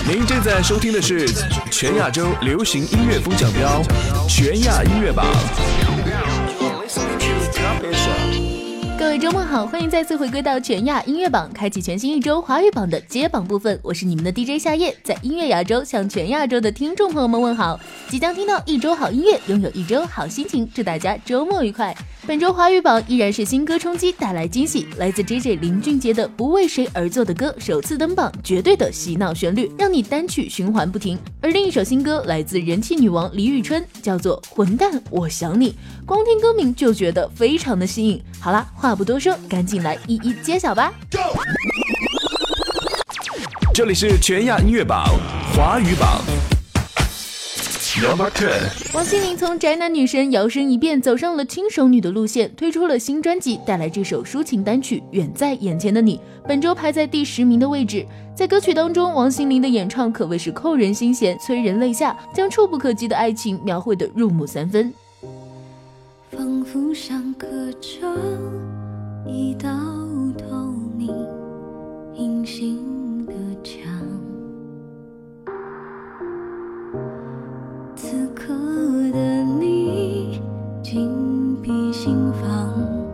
您正在收听的是全亚洲流行音乐风向标全亚音乐榜。 各位周末好，欢迎再次回归到全亚音乐榜，开启全新一周华语榜的揭榜部分。我是你们的 DJ 夏夜，在音乐亚洲向全亚洲的听众朋友们问好。即将听到一周好音乐，拥有一周好心情，祝大家周末愉快。本周华语榜依然是新歌冲击带来惊喜，来自 JJ 林俊杰的《不为谁而作的歌》首次登榜，绝对的洗脑旋律，让你单曲循环不停。而另一首新歌来自人气女王李宇春，叫做《混蛋我想你》，光听歌名就觉得非常的新颖。好啦，话不多说，赶紧来一一揭晓吧。 这里是全亚音乐榜华语榜。 王心凌从宅男女神摇身一变，走上了轻熟女的路线，推出了新专辑，带来这首抒情单曲《远在眼前的你》，本周排在第10名的位置。在歌曲当中，王心凌的演唱可谓是扣人心弦，催人泪下，将触不可及的爱情描绘得入木三分。 仿佛上刻着一道透明隐形的墙，此刻的你紧闭心房，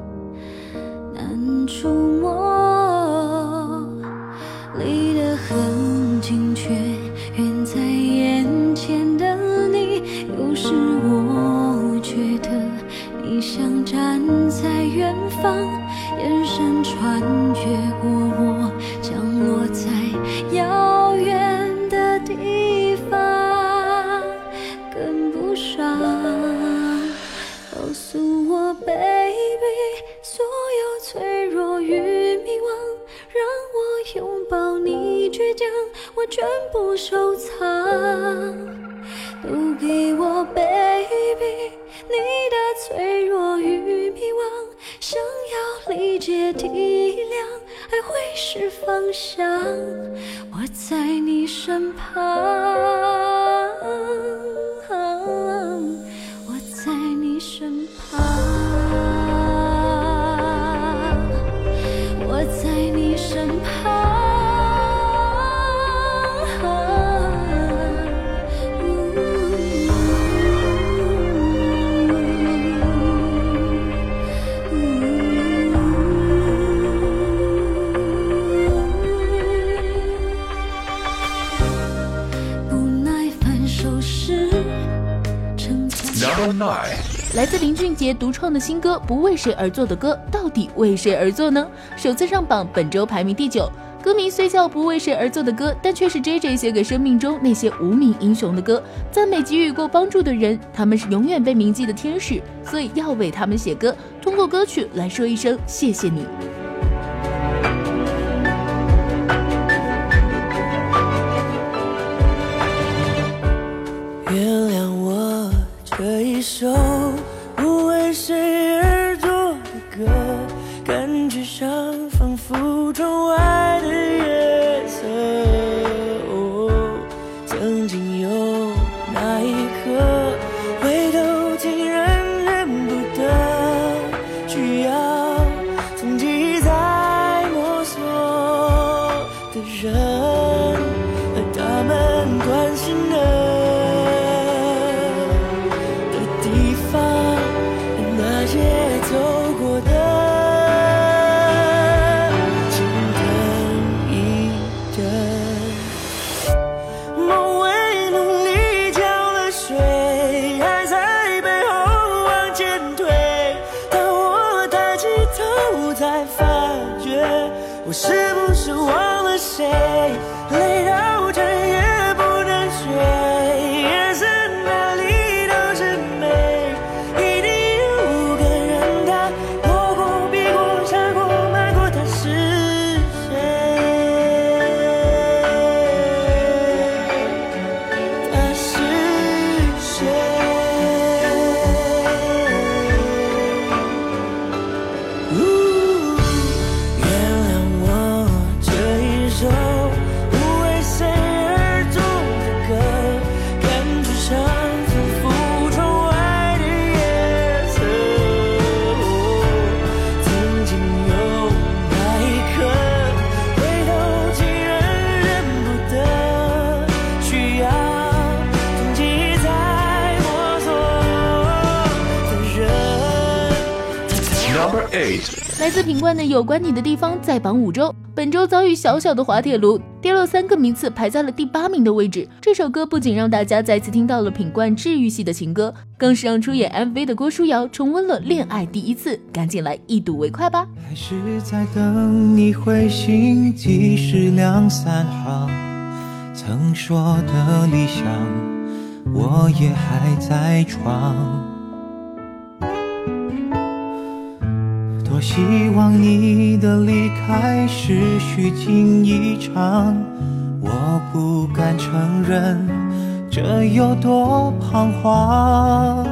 难触摸，离得很近却远在眼前的你，有时我觉得你像站在远方，眼神穿越过我，降落在遥远的地方，跟不上。告诉我 baby， 所有脆弱与迷惘，让我拥抱你倔强，我全部收藏，都给我 baby， 你的脆弱与迷惘，想要理解体谅，爱会是方向，我在你身旁，我在你身旁，我在你身旁。 来自林俊杰独创的新歌《不为谁而作的歌》，到底为谁而作呢？首次上榜，本周排名第9。歌名虽叫不为谁而作的歌，但却是 JJ 写给生命中那些无名英雄的歌，赞美给予过帮助的人，他们是永远被铭记的天使，所以要为他们写歌，通过歌曲来说一声谢谢你。 原谅我这一首不为谁而作的歌，感觉上仿佛窗外的月色，曾经有那一刻回头竟然认不得，需要从记在摸索的人和他们关心的走过的，请等一等。梦为努力浇了水，还在背后往前推，当我抬起头才发觉，我是不是忘了谁？累到整夜不能睡，眼神哪里都是美，一定有个人他过过避过闪过瞒过，他是谁？他是谁？原谅我这一首 8. 来自品冠的《有关你的地方》在榜5周，本周遭遇小小的滑铁卢，跌落3个名次，排在了第8名的位置。这首歌不仅让大家再次听到了品冠治愈系的情歌，更是让出演 MV 的郭书瑶重温了恋爱第一次，赶紧来一睹为快吧。 还是在等你回信，即使2、3行，曾说的理想，我也还在闯。多希望你的离开是虚惊一场，我不敢承认这有多彷徨。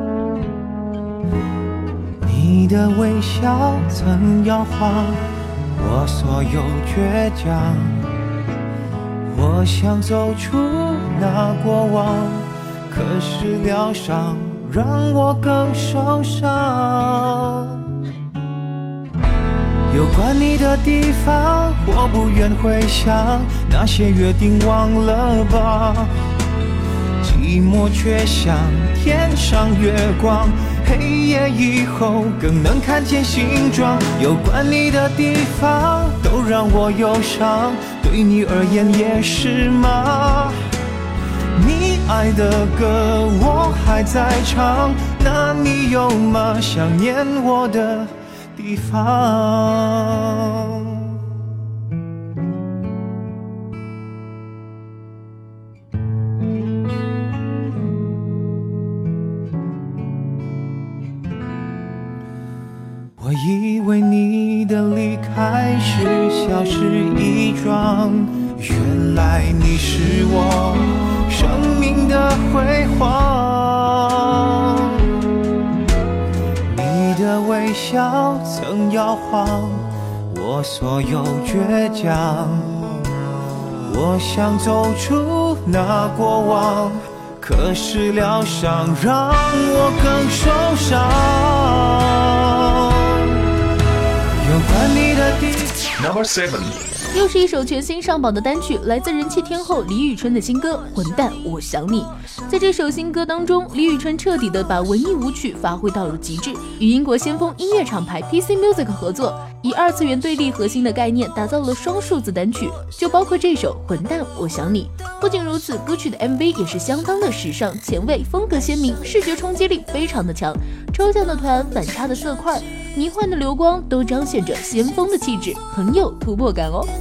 你的微笑曾摇晃我所有倔强，我想走出那过往，可是疗伤让我更受伤。有关你的地方，我不愿回想，那些约定忘了吧。寂寞却像天上月光，黑夜以后更能看见形状。有关你的地方都让我忧伤，对你而言也是吗？你爱的歌我还在唱，那你有吗想念我的地方？我以为你的离开是小事一桩，原来你是我生命的辉煌。你的微笑曾摇晃我所有倔强，我想走出那过往，可是疗伤让我更受伤。有关你的地方。 Number 7. 又是一首全新上榜的单曲，来自人气天后李宇春的新歌《混蛋我想你》。在这首新歌当中，李宇春彻底的把文艺舞曲发挥到了极致，与英国先锋音乐厂牌 PC Music 合作，以2次元对立核心的概念打造了双数字单曲，就包括这首《混蛋我想你》。不仅如此，歌曲的 MV 也是相当的时尚前卫，风格鲜明，视觉冲击力非常的强，抽象的团，反差的色块，迷幻的流光都彰显着先锋的气质，很有突破感哦。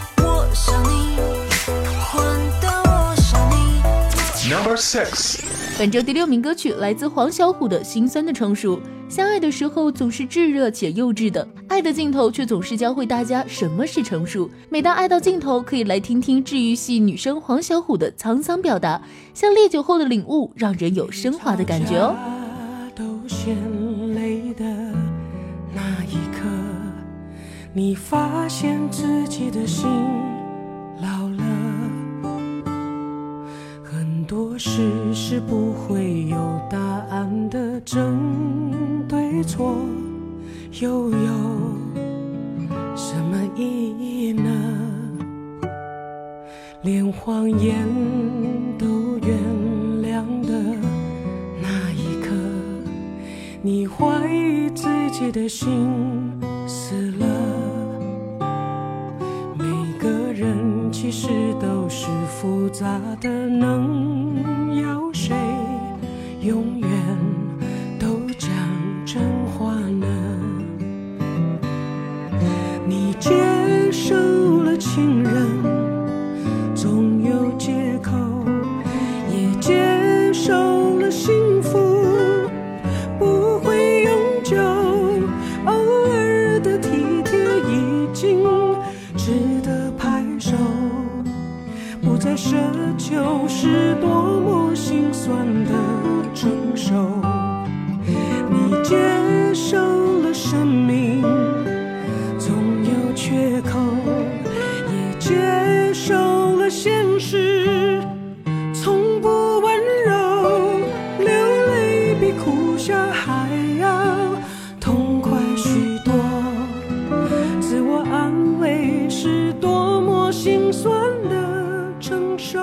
Number 6. 本周第6名歌曲来自黄小琥的《心酸的成熟》。相爱的时候总是炙热且幼稚的，爱的尽头却总是教会大家什么是成熟。每当爱到尽头，可以来听听治愈系女生黄小琥的沧桑表达，像烈酒后的领悟，让人有升华的感觉哦。 都显泪的那一刻，你发现自己的心老了，很多事是不会有答案的，争对错又有什么意义呢？连谎言都原谅的那一刻，你怀疑自己的心死了。每个人其实都是复杂的，能要谁永远都讲真话呢？你接受了情人总有借口，也接受了幸福不会永久，偶尔的体贴已经值得拍手，不再奢求是多么心酸的承受。你接受了生命总有缺口，也接受了现实从不温柔，流泪比哭笑还要痛快许多，自我安慰是多么心酸的承受。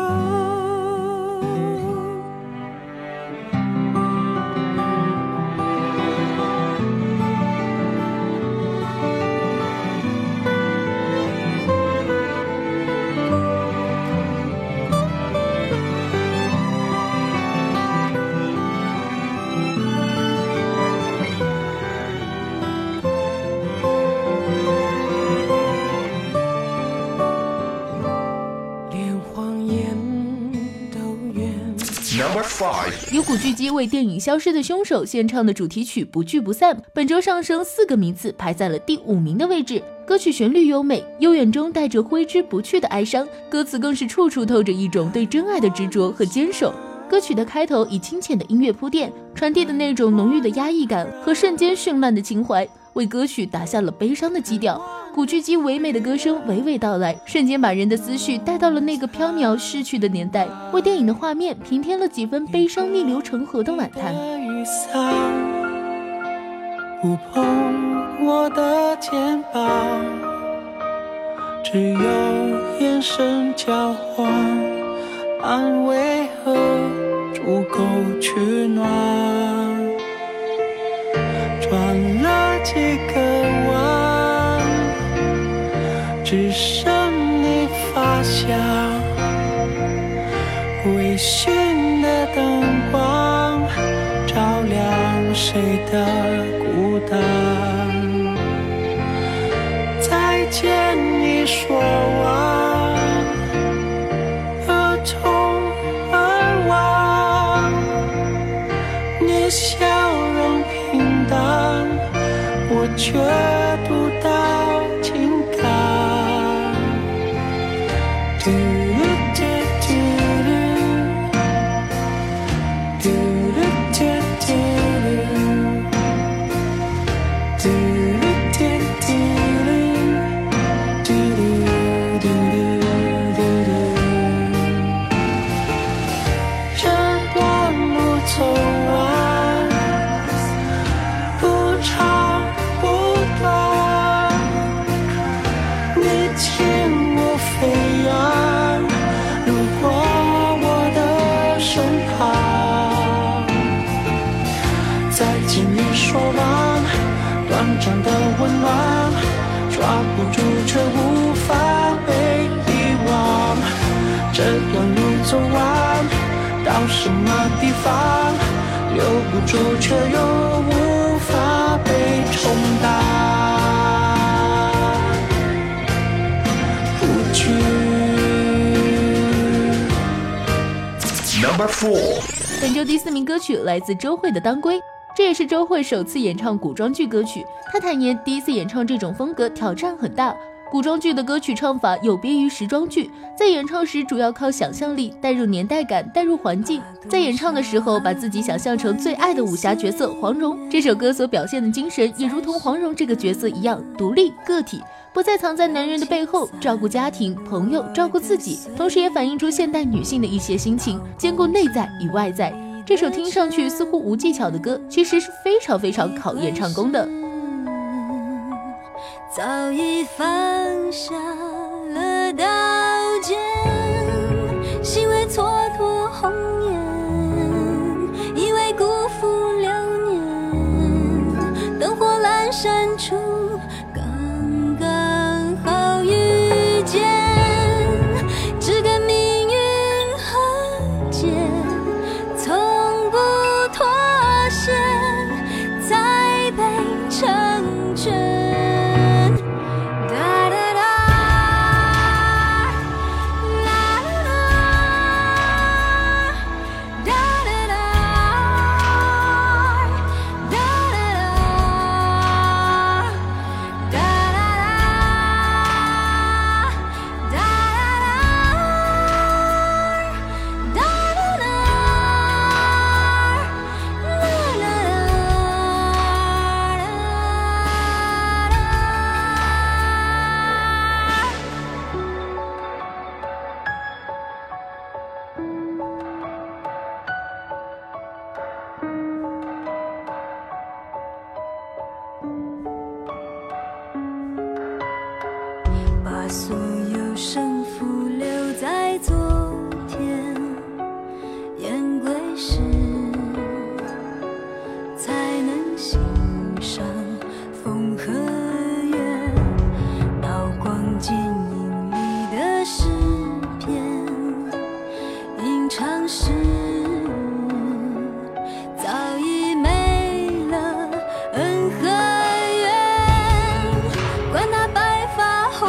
由古巨基为电影《消失的凶手》献唱的主题曲《不聚不散》，本周上升4个名次，排在了第5名的位置。歌曲旋律优美，悠远中带着挥之不去的哀伤，歌词更是处处透着一种对真爱的执着和坚守。歌曲的开头以清浅的音乐铺垫，传递的那种浓郁的压抑感和瞬间绚烂的情怀，为歌曲打下了悲伤的基调。古巨基唯美的歌声娓娓道来，瞬间把人的思绪带到了那个飘渺逝去的年代，为电影的画面平添了几分悲伤逆流成河的晚餐。 雨伞不碰我的肩膀，只有眼神交换，安慰和足够取暖，转了几个弯，只剩你发香，微醺的灯光照亮谁的孤单。再见你说完，而从而忘，你笑容平淡，我却读到情感。嘟嘟嘟嘟嘟嘟嘟嘟短暂的温暖，抓不住却无法被遗忘。这段路走完，到什么地方？留不住却又无法被冲淡。不去。 Number 4 本周第4名歌曲来自周蕙的《当归》，这也是周蕙首次演唱古装剧歌曲。她坦言，第一次演唱这种风格挑战很大。古装剧的歌曲唱法有别于时装剧，在演唱时主要靠想象力，带入年代感，带入环境。在演唱的时候，把自己想象成最爱的武侠角色黄蓉。这首歌所表现的精神，也如同黄蓉这个角色一样，独立个体，不再藏在男人的背后，照顾家庭、朋友，照顾自己，同时也反映出现代女性的一些心情，兼顾内在与外在。这首听上去似乎无技巧的歌，其实是非常非常考验唱功的。 早已放下了刀剑，心为蹉跎红颜，以为辜负流年，灯火阑珊处刚刚好遇见，只跟命运和解，从不妥协，才被成全。把所有胜负留在昨天，言归时才能欣赏风和月，刀光剑影里的诗篇，吟唱时早已没了恩和怨，管他白发红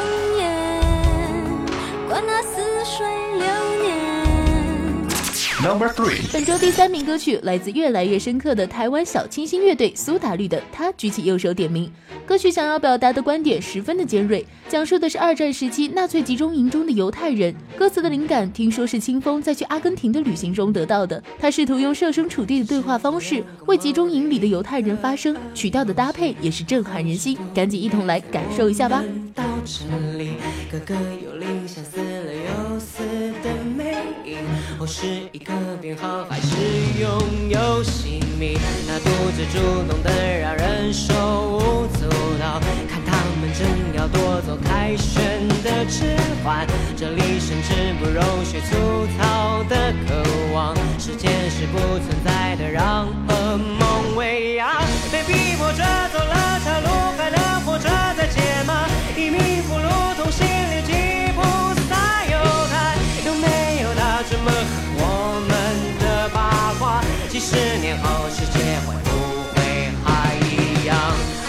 Number 3， 本周第3名歌曲来自越来越深刻的台湾小清新乐队苏打绿的《他举起右手点名》。歌曲想要表达的观点十分的尖锐，讲述的是2战时期纳粹集中营中的犹太人。歌词的灵感听说是清风在去阿根廷的旅行中得到的。他试图用设身处地的对话方式为集中营里的犹太人发声，曲调的搭配也是震撼人心。赶紧一同来感受一下吧。 到这里，个个有理想，死了又死的魅影，或是一个编号，还是拥有姓名，那独自主动的让人手舞足蹈，看他们正要夺走凯旋的指环，这里甚至不容许粗糙的渴望，时间是不存在的，让噩梦喂养，被逼迫着走了条路，还能活着再解吗？一命不如同心里吉普撒犹太，有没有他这么我们的八卦？70年后世界会不会还一样？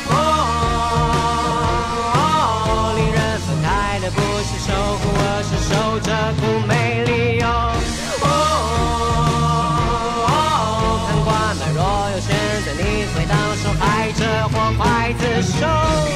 令人分开的不是守护，而是守着苦没理由。看惯了，若有选择，你会当受害者或刽子手。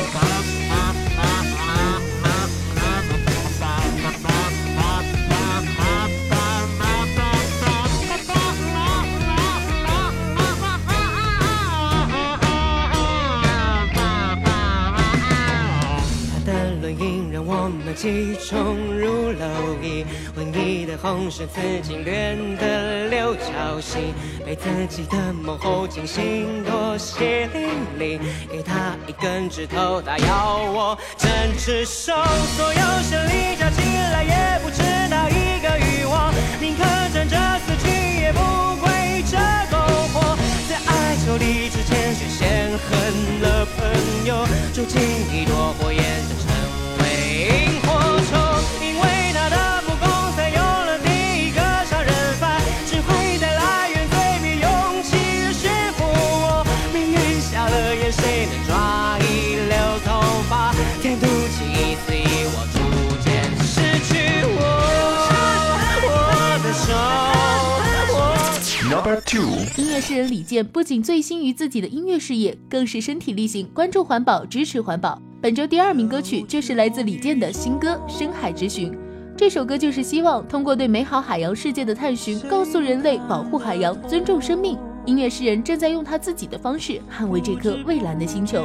我们集中如蝼蚁，文艺的红十字经略的六角形，被自己的梦后惊醒，多血淋淋，给他一根指头，他要我整只手，所有胜利加起来也不值那一个欲望，宁可站着死去，也不跪着苟活，在爱就离之前先先恨了朋友，住进一朵火焰萤火虫，因为他的不公，才有了第一个杀人犯，只会带来原罪比勇气越驯服我。命运瞎了眼，谁能抓一绺头发？天妒气一次以我逐渐失去我的手。 Number 2。 音乐诗人李健不仅醉心于自己的音乐事业，更是身体力行，关注环保，支持环保。本周第2名歌曲就是来自李健的新歌《深海之寻》。这首歌就是希望通过对美好海洋世界的探寻，告诉人类保护海洋，尊重生命。音乐诗人正在用他自己的方式捍卫这颗蔚蓝的星球。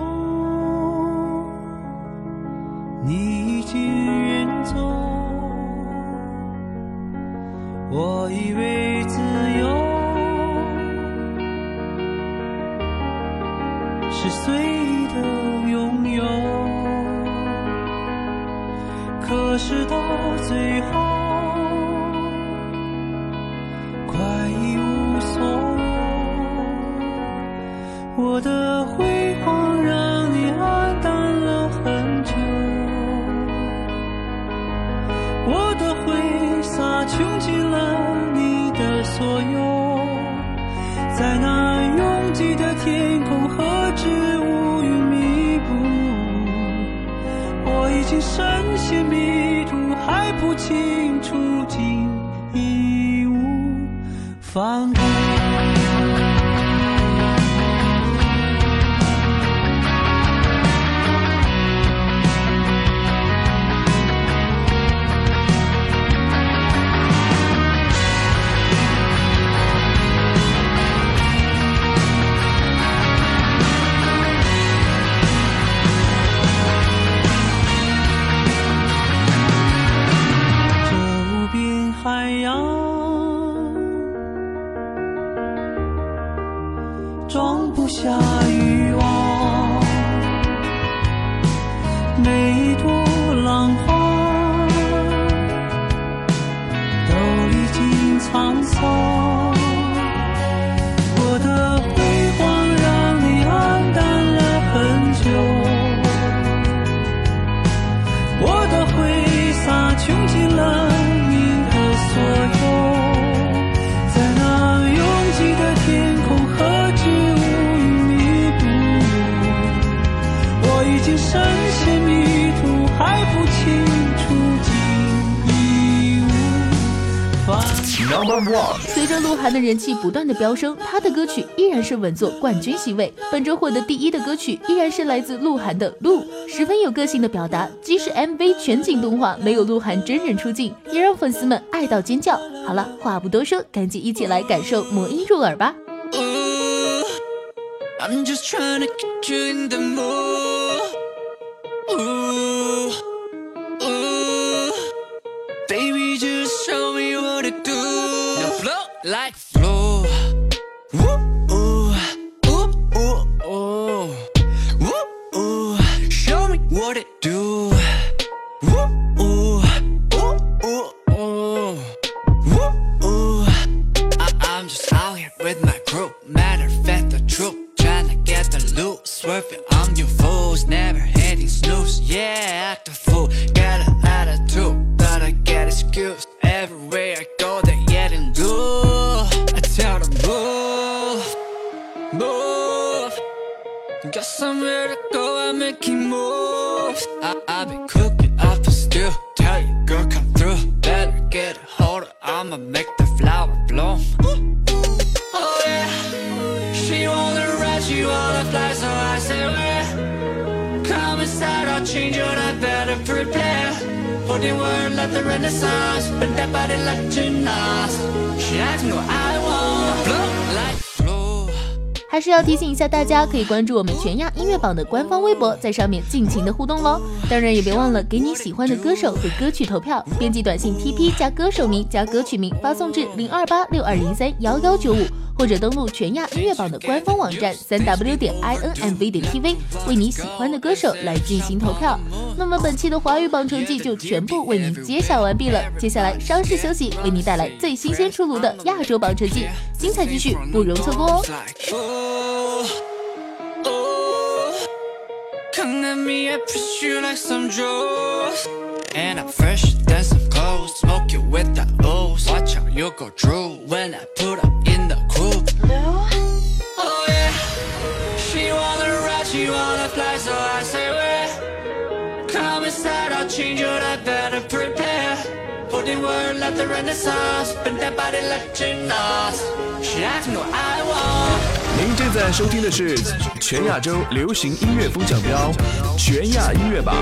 你已经远走，我以为自由是随意的拥有，可是到最后快一无所有，我的辉煌让你黯淡了很久，我的挥洒穷尽了你的所有，在那拥挤的天空何止乌云密布，我已经深陷迷途，还不清楚竟义无反顾。海洋装不下欲望，每一朵浪花都历经沧桑，我的辉煌让你黯淡了很久，我的挥洒穷尽了所有，在那拥挤的天空何止乌云密布，我已经深陷迷途，还不清楚竟义无反顾。 随着鹿晗的人气不断的飙升，他的歌曲依然是稳坐冠军席位。本周获得第1的歌曲依然是来自鹿晗的《鹿》，十分有个性的表达，即使 MV 全景动画没有鹿晗真人出镜，也让粉丝们爱到尖叫。好了，话不多说，赶紧一起来感受魔音入耳吧。 I'm just trying to get you in the mood. Ooh, ooh. Baby, just show me what to do. Now flow like flow. Ooh, ooh, ooh, ooh, ooh. Ooh, ooh. Show me what to do. Ooh, ooh, ooh, ooh, ooh. Ooh, ooh. I'm just out here with my crew. Matter of fact, the truth. Tryna get the loot, swerving on you fools, never hitting snooze. Yeah, act a fool, got an attitude, but I get excuse. Everywhere I go, they're getting loose. I tell them move, move. Got somewhere to go, I'm making moves. I've been cooking up a stew. Tell you, girl, come through. Better get a hold of, I'ma make the flower bloom. Oh yeah, she wanna you wanna fly, so I say where? Come inside, I'll change your life, better prepare. Holding word like the Renaissance, bend that body like gymnast. She asks me what I want, flow like flow. 还是要提醒一下大家，可以关注我们全亚音乐榜的官方微博，在上面尽情的互动咯。当然也别忘了给你喜欢的歌手和歌曲投票，编辑短信 TP 加歌手名加歌曲名发送至02862031195。或者登录全亚音乐榜的官方网站3w.inmv.tv， 为你喜欢的歌手来进行投票。那么本期的华语榜成绩就全部为您揭晓完毕了，接下来稍事休息，为你带来最新鲜出炉的亚洲榜成绩，精彩继续，不容错过哦。 Come at me, I push you like some drugs. And I'm fresher than some clothes. Smoke you with the O's. Watch how you go through when I put up in the coupe. Oh yeah, she wanna ride, she wanna fly, so I say where? Come inside, I'll change your life, better prepare. Show the world like the Renaissance, bend that body like gymnast. She asked me what I want. 您正在收听的是全亚洲流行音乐风向标全亚音乐榜。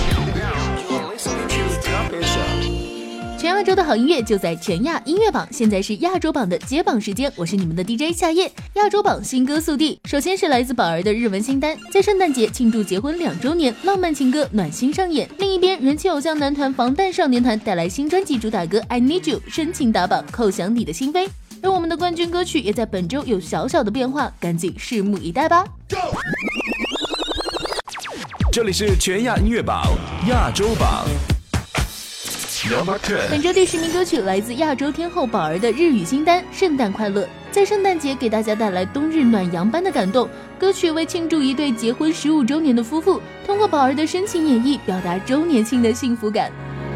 全亚洲的好音乐就在全亚音乐榜，现在是亚洲榜的揭榜时间，我是你们的 DJ 夏夜。亚洲榜新歌速递，首先是来自宝儿的日文新单，在圣诞节庆祝结婚2周年，浪漫情歌暖心上演。另一边，人气偶像男团防弹少年团带来新专辑主打歌 I Need You 深情打榜，叩响你的心扉。而我们的冠军歌曲也在本周有小小的变化，赶紧拭目以待吧。 这里是全亚音乐榜亚洲榜。 本周第10名歌曲来自亚洲天后宝儿的日语新单《圣诞快乐》，在圣诞节给大家带来冬日暖阳般的感动。歌曲为庆祝一对结婚15周年的夫妇，通过宝儿的深情演绎，表达周年庆的幸福感。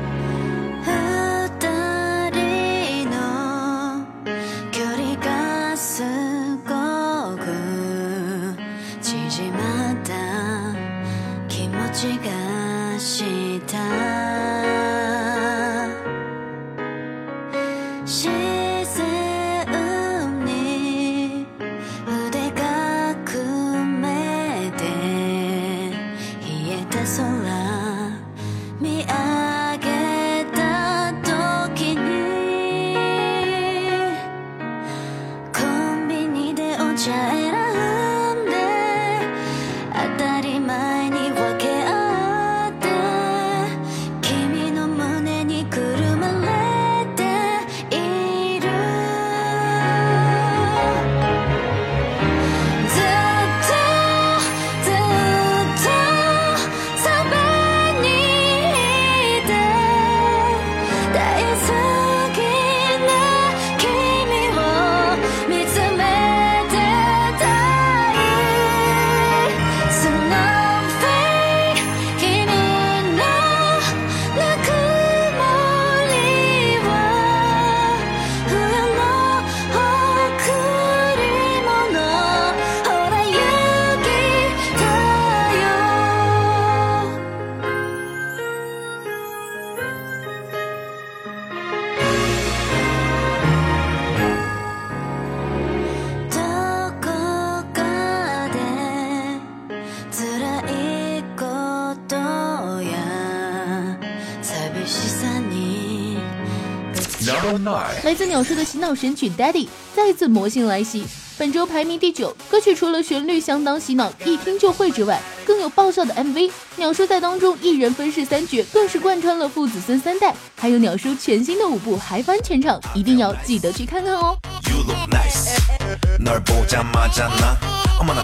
来自鸟叔的洗脑神曲 Daddy 再次魔性来袭，本周排名第9。歌曲除了旋律相当洗脑，一听就会之外，更有爆笑的 MV。鸟叔在当中一人分饰3角，更是贯穿了父子孙3代。还有鸟叔全新的舞步嗨翻全场，一定要记得去看看哦。You look nice. 널 보자마자 나 어머나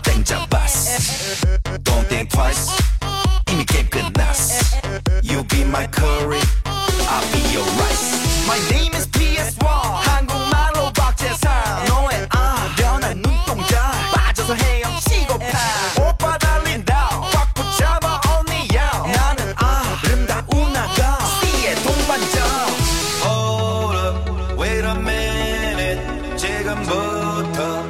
땡잡았어. Don't think twice. 이미 게임 끝났어. You be my curry, I'll be your rice. My name is PS1. 한국말로 박재상. 너의 아련한 눈동자 빠져서 헤엄치고파. 오빠 달린다 꽉 붙잡아 언니야. 나는 아름다운 아가 C의 동반자. Hold up, wait a minute. 지금부터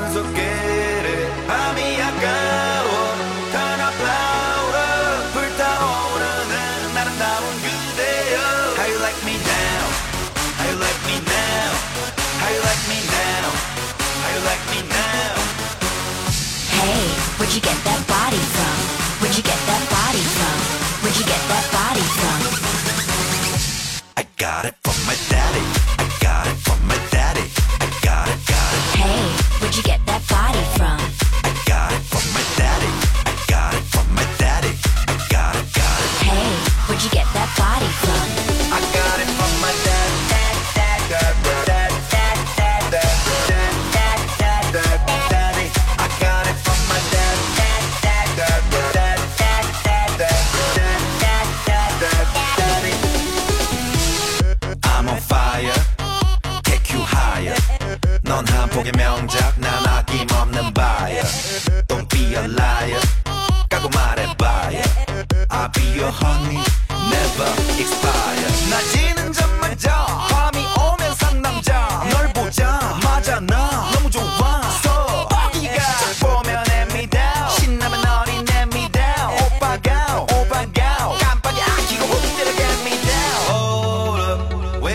선수끼리 밤이 아까워. Turn up louder. 불타오르는 아름다운 그대여. How you like me now? How you like me now? How you like me now? How you like me now? Hey, where'd you get that body from? Where'd you get that body from? Where'd you get that body from? I got it from my daddy. I got it from my daddy. I got it, got it. Hey, where'd you get that body from? I got it from my daddy. I got it from my daddy. I got it, got it. Hey, where'd you get that body from? I got it from my daddy. I'm on fire, take you higher. 넌 한 폭의 명작, 난 아낌없는 buyer. Don't be a liar, 까고 말해봐요. I'll be your honey, never expire. 낮이는 잠마저 밤이 오면 상남자. 널 보자마자 나 너무 좋아서 뻑이가 보면 hand-me down. 신나면 어린애입니다. 오빠가 깜빡이 아끼고 흔들어 get me down. Hold up,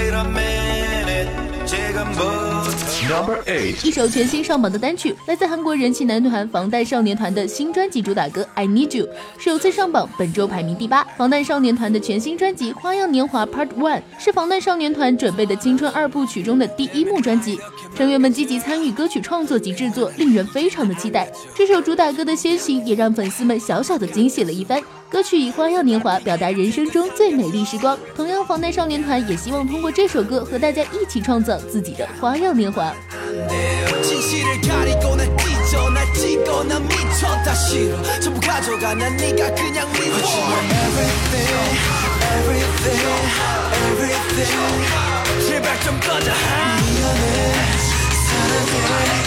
8. 一首全新上榜的单曲，来自韩国人气男团防弹少年团的新专辑主打歌《I Need You》，首次上榜，本周排名第8。防弹少年团的全新专辑《花样年华 Part 1》是防弹少年团准备的青春2部曲中的第1幕专辑，成员们积极参与歌曲创作及制作，令人非常的期待。这首主打歌的先行也让粉丝们小小的惊喜了一番。歌曲以花样年华表达人生中最美丽时光，同样防弹少年团也希望通过这首歌和大家一起创造自己的花样年华。 진실을 가리고 날 찢어 날 찍어 난 미쳐 다 싫어 전부 가져가 난 네가 그냥 미워 Everything Everything Everything 제발 좀 꺼져 미안해 사랑해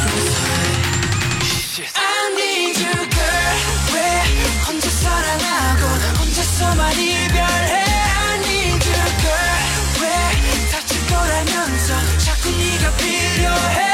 I need you girl 왜 혼자 사랑하고 혼자서만 이별해 I need you girl 왜 다칠 거라면서 자꾸 네가 필요해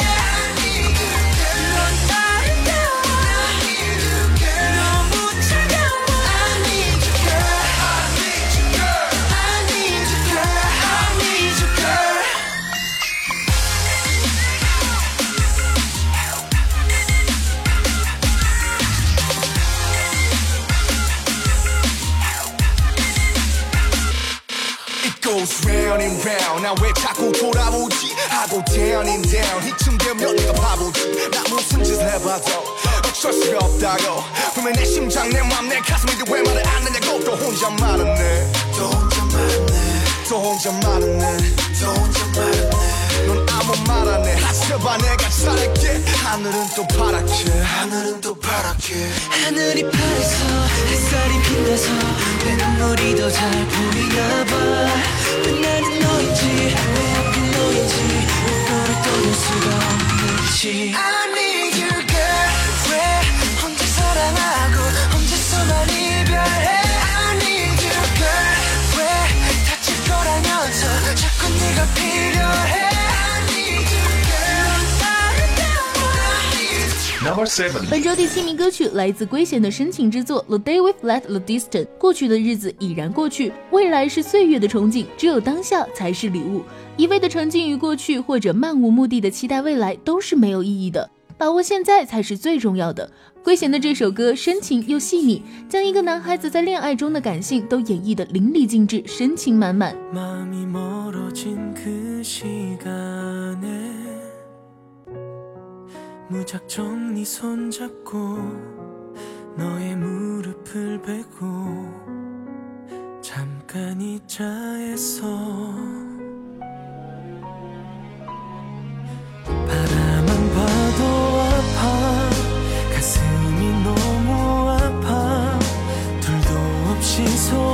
goes round and round 나 왜 자꾸 돌아오지 하고 down and down 이쯤 되면 내가 바보지 나 무슨 짓을 해봐도 어쩔 수가 없다고 분명 내 심장 내 맘 내 가슴인데 왜 말을 안 하냐고 또 혼자 말았네 또 혼자 말았네 또 혼자 말았네 또 혼자 말았네 넌 아무 말 안 해 하셔봐 내가 잘할게 하늘은 또 파랗게 하늘은 또 파랗게 하늘이 파래서 햇살이 빛나서 내 눈물이 더 잘 보이나 봐왜 나는 너인지 왜 하필 너인지 왜 너를 떠날 수가 없는지 I need you girl 왜 혼자 사랑하고 혼자서만 이별해 I need you girl 왜 다칠 거라면서 자꾸 네가 필요해 Number 7. 本周第7名歌曲来自圭贤的深情之作《The Day We've Let the Distant》。过去的日子已然过去，未来是岁月的憧憬，只有当下才是礼物。一味的沉浸于过去，或者漫无目的的期待未来，都是没有意义的。把握现在才是最重要的。圭贤的这首歌深情又细腻，将一个男孩子在恋爱中的感性都演绎得淋漓尽致，深情满满。 마음이 멀어진 그 시간에 무작정 네 손잡고 너의 무릎을 베고 잠깐 잊자 했어 바라만 봐도 아파 가슴이 너무 아파 둘도 없이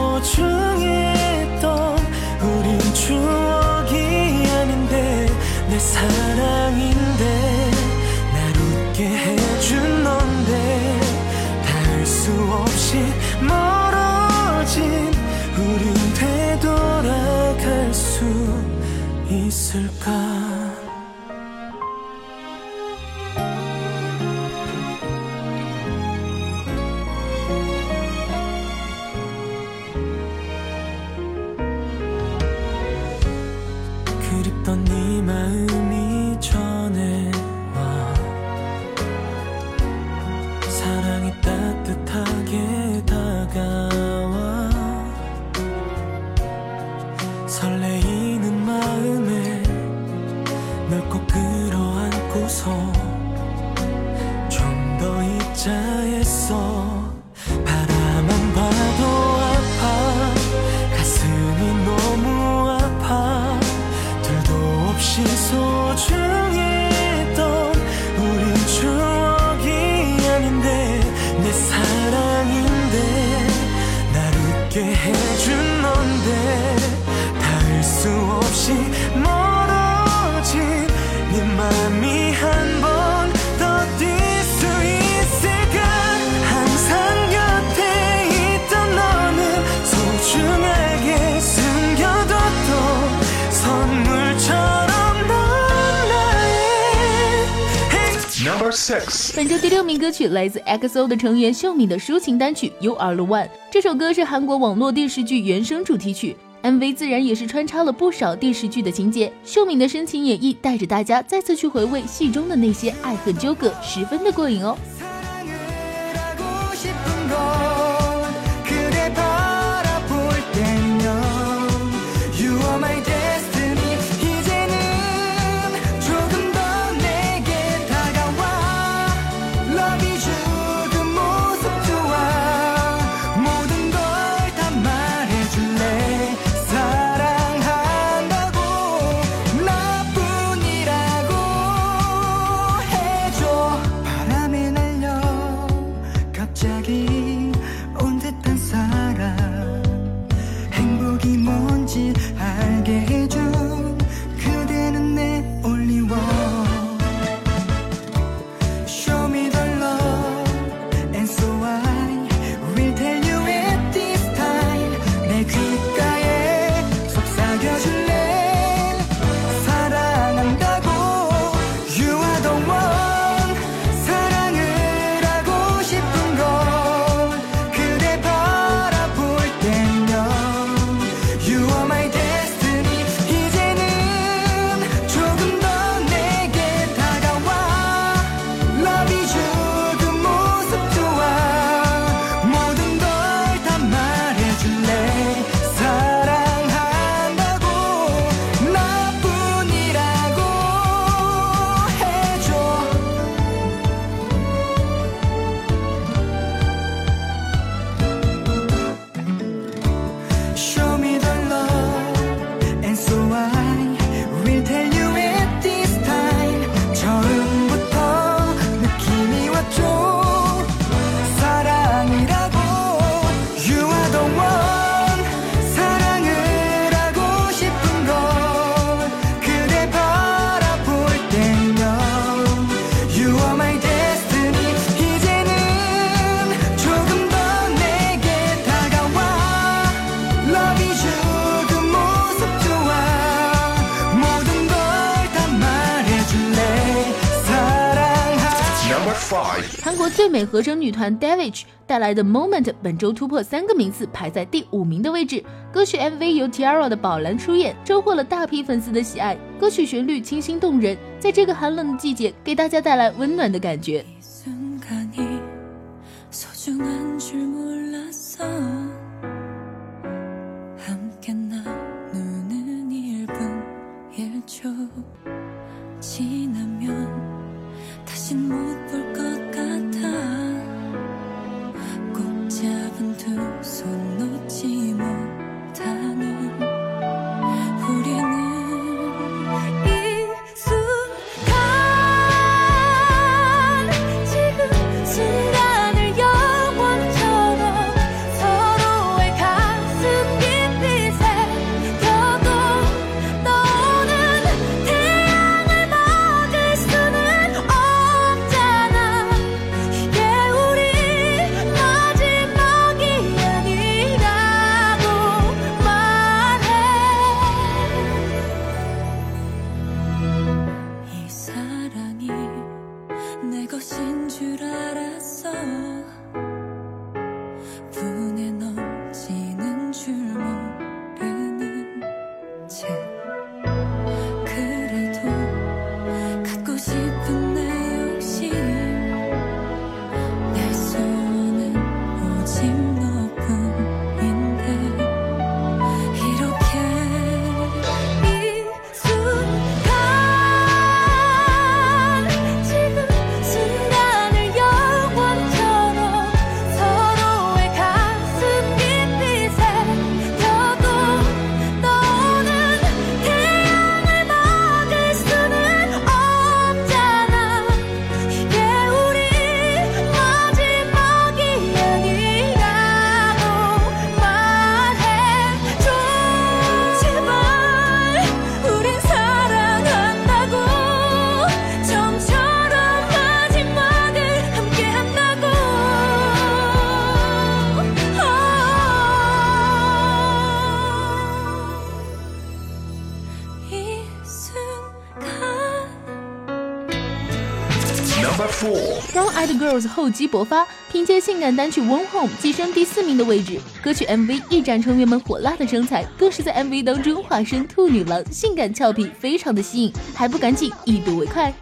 소중했던 우린 추억이 아닌데 내 사랑인데 해준 넌데 닿을 수 없이 멀어진 우린 되돌아갈 수 있을까 그립던 네 마음이 전해 사랑이 따뜻하게 다가와 설레이는 마음에 널 꼭 끌어안고서 좀 더 잊자 했어 바라만 봐도 아파 가슴이 너무 아파 둘도 없이 소중했던 우린 추억이 아닌데 내 사랑인데 날 웃게 해준 넌데 닿을 수 없이 멀어진 네 맘이 한 번 더 뛸 수 있을까 항상 곁에 있던 너는 소중하게 숨겨뒀던 선물처럼 넌 나의 Number 6. 本周第6名歌曲来自 EXO 的成员秀敏的抒情单曲《You Are the One》。这首歌是韩国网络电视剧原声主题曲。 MV 自然也是穿插了不少电视剧的情节，秀敏的深情演绎带着大家再次去回味戏中的那些爱恨纠葛，十分的过瘾哦。韩国最美合声女团 Davichi 带来的 Moment 本周突破3个名次，排在第5名的位置。歌曲 MV 由 T-ara 的宝蓝出演，收获了大批粉丝的喜爱。歌曲旋律清新动人，在这个寒冷的季节给大家带来温暖的感觉。 Brown Eyed Girls 厚积薄发，凭借性感单曲 One Home 跻身第4名的位置。歌曲 MV 一展成员们火辣的身材，更是在 MV 当中化身兔女郎，性感俏皮，非常的吸引，还不赶紧一睹为快。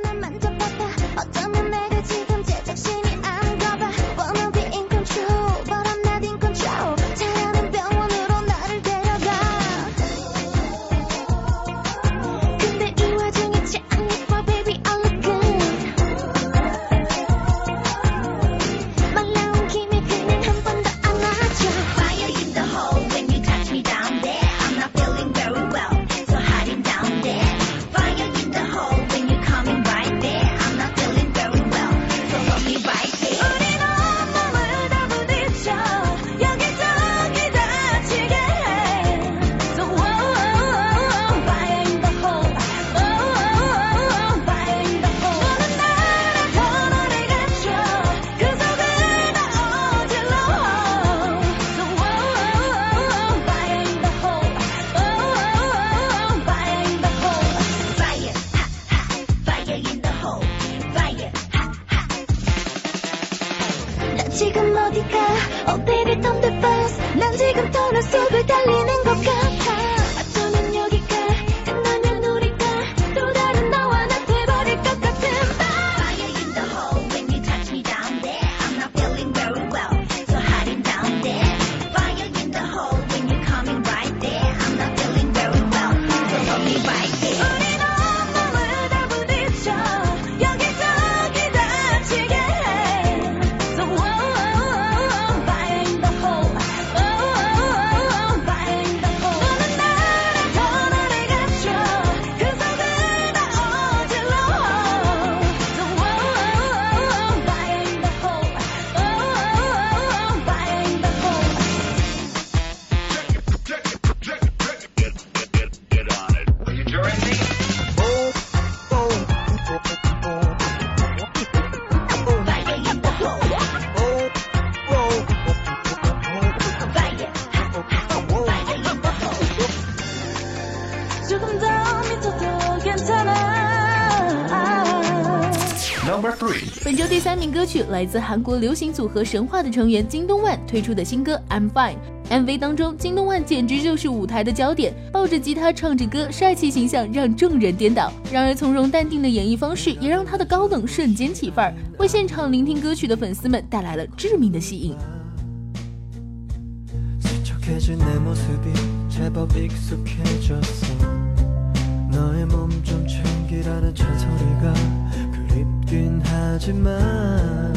지금 어디가 어디를 덤벼봤어 난 지금 터널 속을 달리는 것 같아 어쩌면 여기가 끝나면 우리가 또 다른 너와 나 돼버릴 것 같은 Fire in the hole when you touch me down there I'm not feeling very well so hiding down there Fire in the hole when you're coming right there I'm not feeling very well so hold me right there 우린 온몸을 다 부딪혀 여기저기 다치게 해 So fire in the hole fire in the hole 너는 나를 더 나를 감춰 그 속을 다 어질러 So fire in the hole fire in the hole Fire in the hole Fire Fire in the hole 조금 더 미쳐도 괜찮아 Number 3. 本周第3名歌曲来自韩国流行组合神话的成员金东万推出的新歌 I'm Fine。MV 当中，金东万简直就是舞台的焦点，抱着吉他唱着歌，帅气形象让众人颠倒。然而从容淡定的演绎方式，也让他的高冷瞬间起范儿，为现场聆听歌曲的粉丝们带来了致命的吸引。 스척해진 내 모습이 제법 익숙해졌어 너의 몸 좀 챙기라는 잔소리가 그립긴 하지만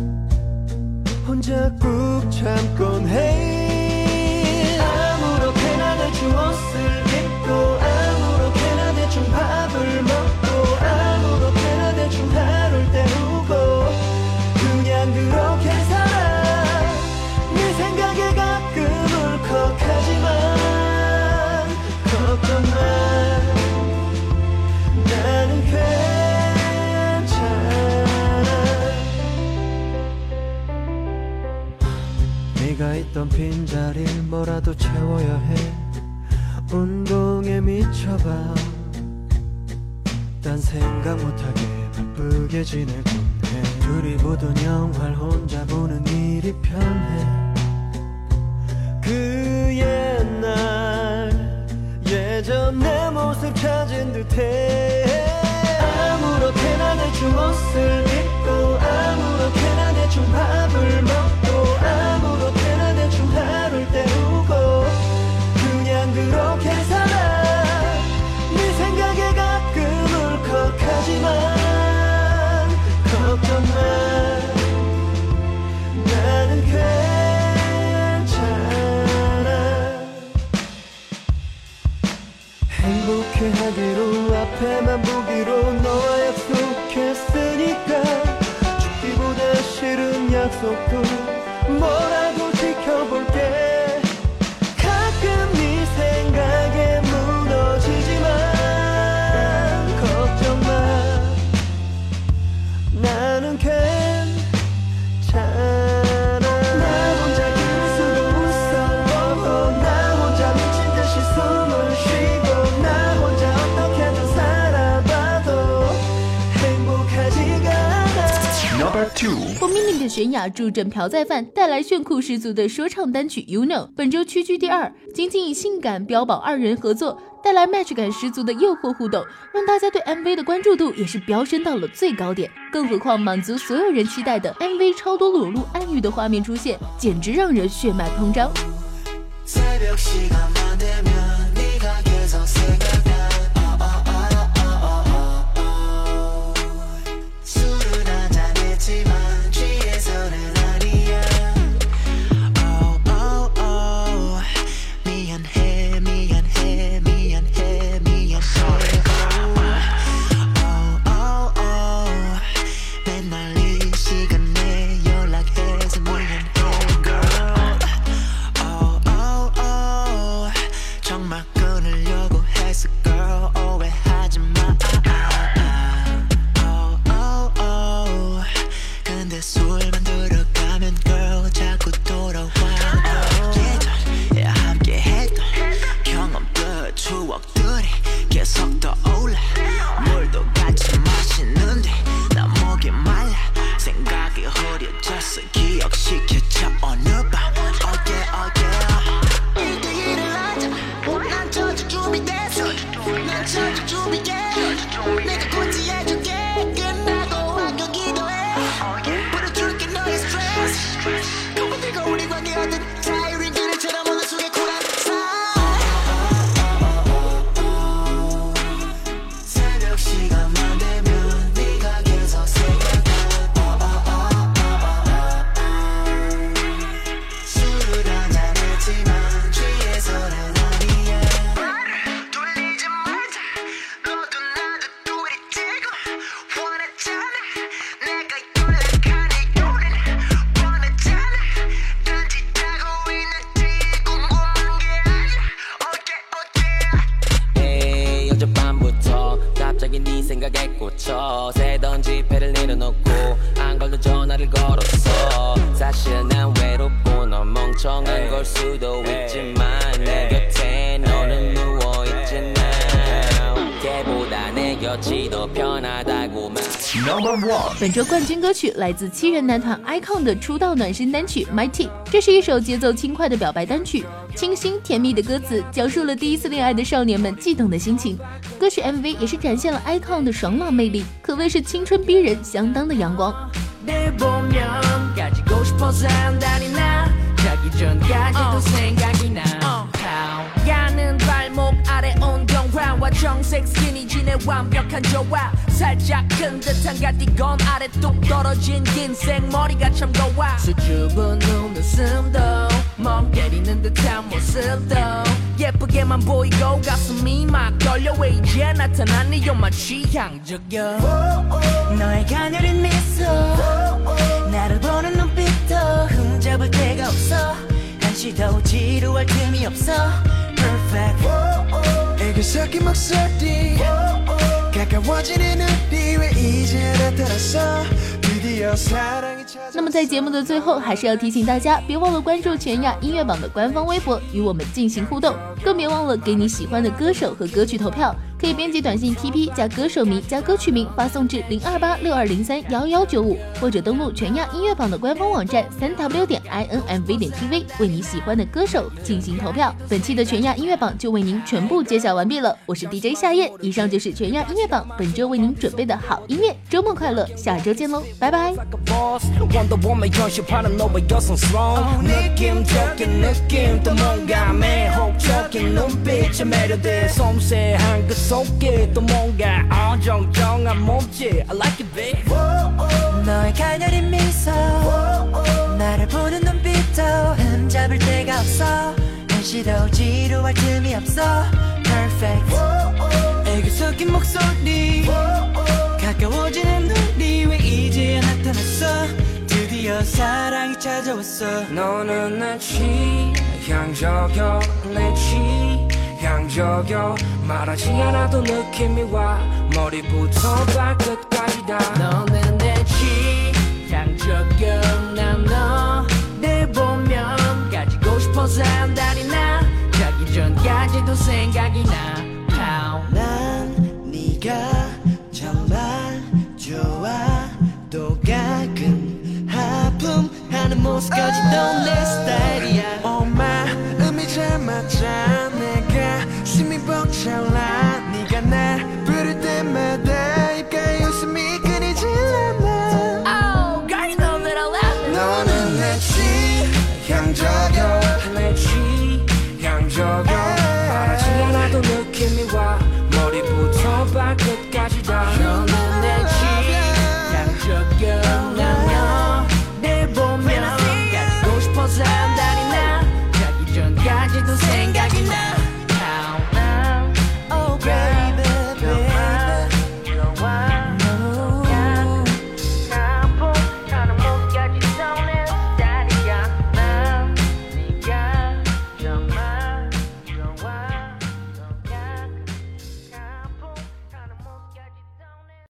혼자 꾹 참곤 해 아무렇게나 대충 옷을 입고 아무렇게나 대충 밥을 먹고 아무렇게나 대충 하루를 때우고 그냥 그렇게 살아 네 생각에 가끔 울컥하지만 걱정 마 나는 괜찮아 네가 있던 빈자리를 뭐라도 채워야 해 운동에 미쳐봐 딴 생각 못하게 바쁘게 지내곤 해 둘이 보던 영화를 혼자 보는 일이 편해 그 옛날 예전 내 모습 찾은 듯해 아무렇게나 대충 옷을 입고 아무렇게나 대충 밥을 먹고 아무렇게나 대충 하루를 때우고 그냥 그렇게 살아 네 생각에 가끔 울컥하지만 걱정 마 나는 괜찮아 행복해하기로 앞에만 보기로 너와 약속했으니까 죽기보다 싫은 약속도 뭐라도 지켜볼게 가끔 네 생각에 무너지지만 걱정 마 나는 괜찮아 나 혼자 기술로 웃어 나 혼자 미친 듯이 숨을 쉬고 나 혼자 어떻게든 살아봐도 행복하지가 않아 2. For Minnie 的泫雅助阵朴在范，带来炫酷十足的说唱单曲 You Know， 本周屈居第2，仅仅以性感标榜2人合作，带来 match 感十足的诱惑互动，让大家对 MV 的关注度也是飙升到了最高点。更何况滿足所有人期待的 MV 超多裸露暗喻的画面出现，简直让人血脉膨胀。本周冠军歌曲来自7人男团 iKON 的出道暖身单曲 Mighty， 这是一首节奏轻快的表白单曲，清新甜蜜的歌词讲述了第一次恋爱的少年们悸动的心情。歌曲 MV 也是展现了 iKON 的爽朗魅力，可谓是青春逼人，相当的阳光。 정색 스키니진의 완벽한 조화 살짝 큰 듯한 가디건 아래 뚝 떨어진 긴 생머리가 참 고와 수줍은 눈웃음도 멍 때리는 듯한 모습도 예쁘게만 보이고 가슴이 막 떨려 왜 이제 나타나니 You're my 취향적여 너의 가녀린 미소 나를 보는 눈빛도 흠잡을 데가 없어 한시도 지루할 틈이 없어 Perfect 애교섞인 목소리 가까워지는 우리 왜 이제 나타났어 드디어 사랑이 찾아。 那么在节目的最后，还是要提醒大家，别忘了关注全亚音乐榜的官方微博，与我们进行互动，更别忘了给你喜欢的歌手和歌曲投票。可以编辑短信 TP 加歌手名加歌曲名发送至02862031195，或者登录全亚音乐榜的官方网站3w.inmv.tv 为你喜欢的歌手进行投票。本期的全亚音乐榜就为您全部揭晓完毕了，我是 DJ 夏夜，以上就是全亚音乐榜本周为您准备的好音乐，周末快乐，下周见喽，拜拜。 속에 또 뭔가 어정쩡한 몸짓 I like it babe 너의 가녀린 미소 나를 보는 눈빛도 흠잡을 데가 없어 한시도 지루할 틈이 없어 Perfect 애교 섞인 목소리 가까워지는 우리 왜 이제야 나타났어 드디어 사랑이 찾아왔어 너는 내 취향저격 내 취향저격 말하지 않아도 느낌이 와 머리부터 발끝까지 다 너는 내 취향저격 난 너 내 보면 가지고 싶어서 한달이 나 자기 전까지도 생각이 나 난 네가 정말 좋아 또 가끔 포스까지도 내 스타일이야 마음이 잘 맞아 내가 숨이 벅차올라 네가 날 부를 때마다 입가에 웃음이 끊이질 않아 Oh, girl, you know that I love it. 너는 내 취향저격 내 취향저격 말하지 않아도 느낌이 와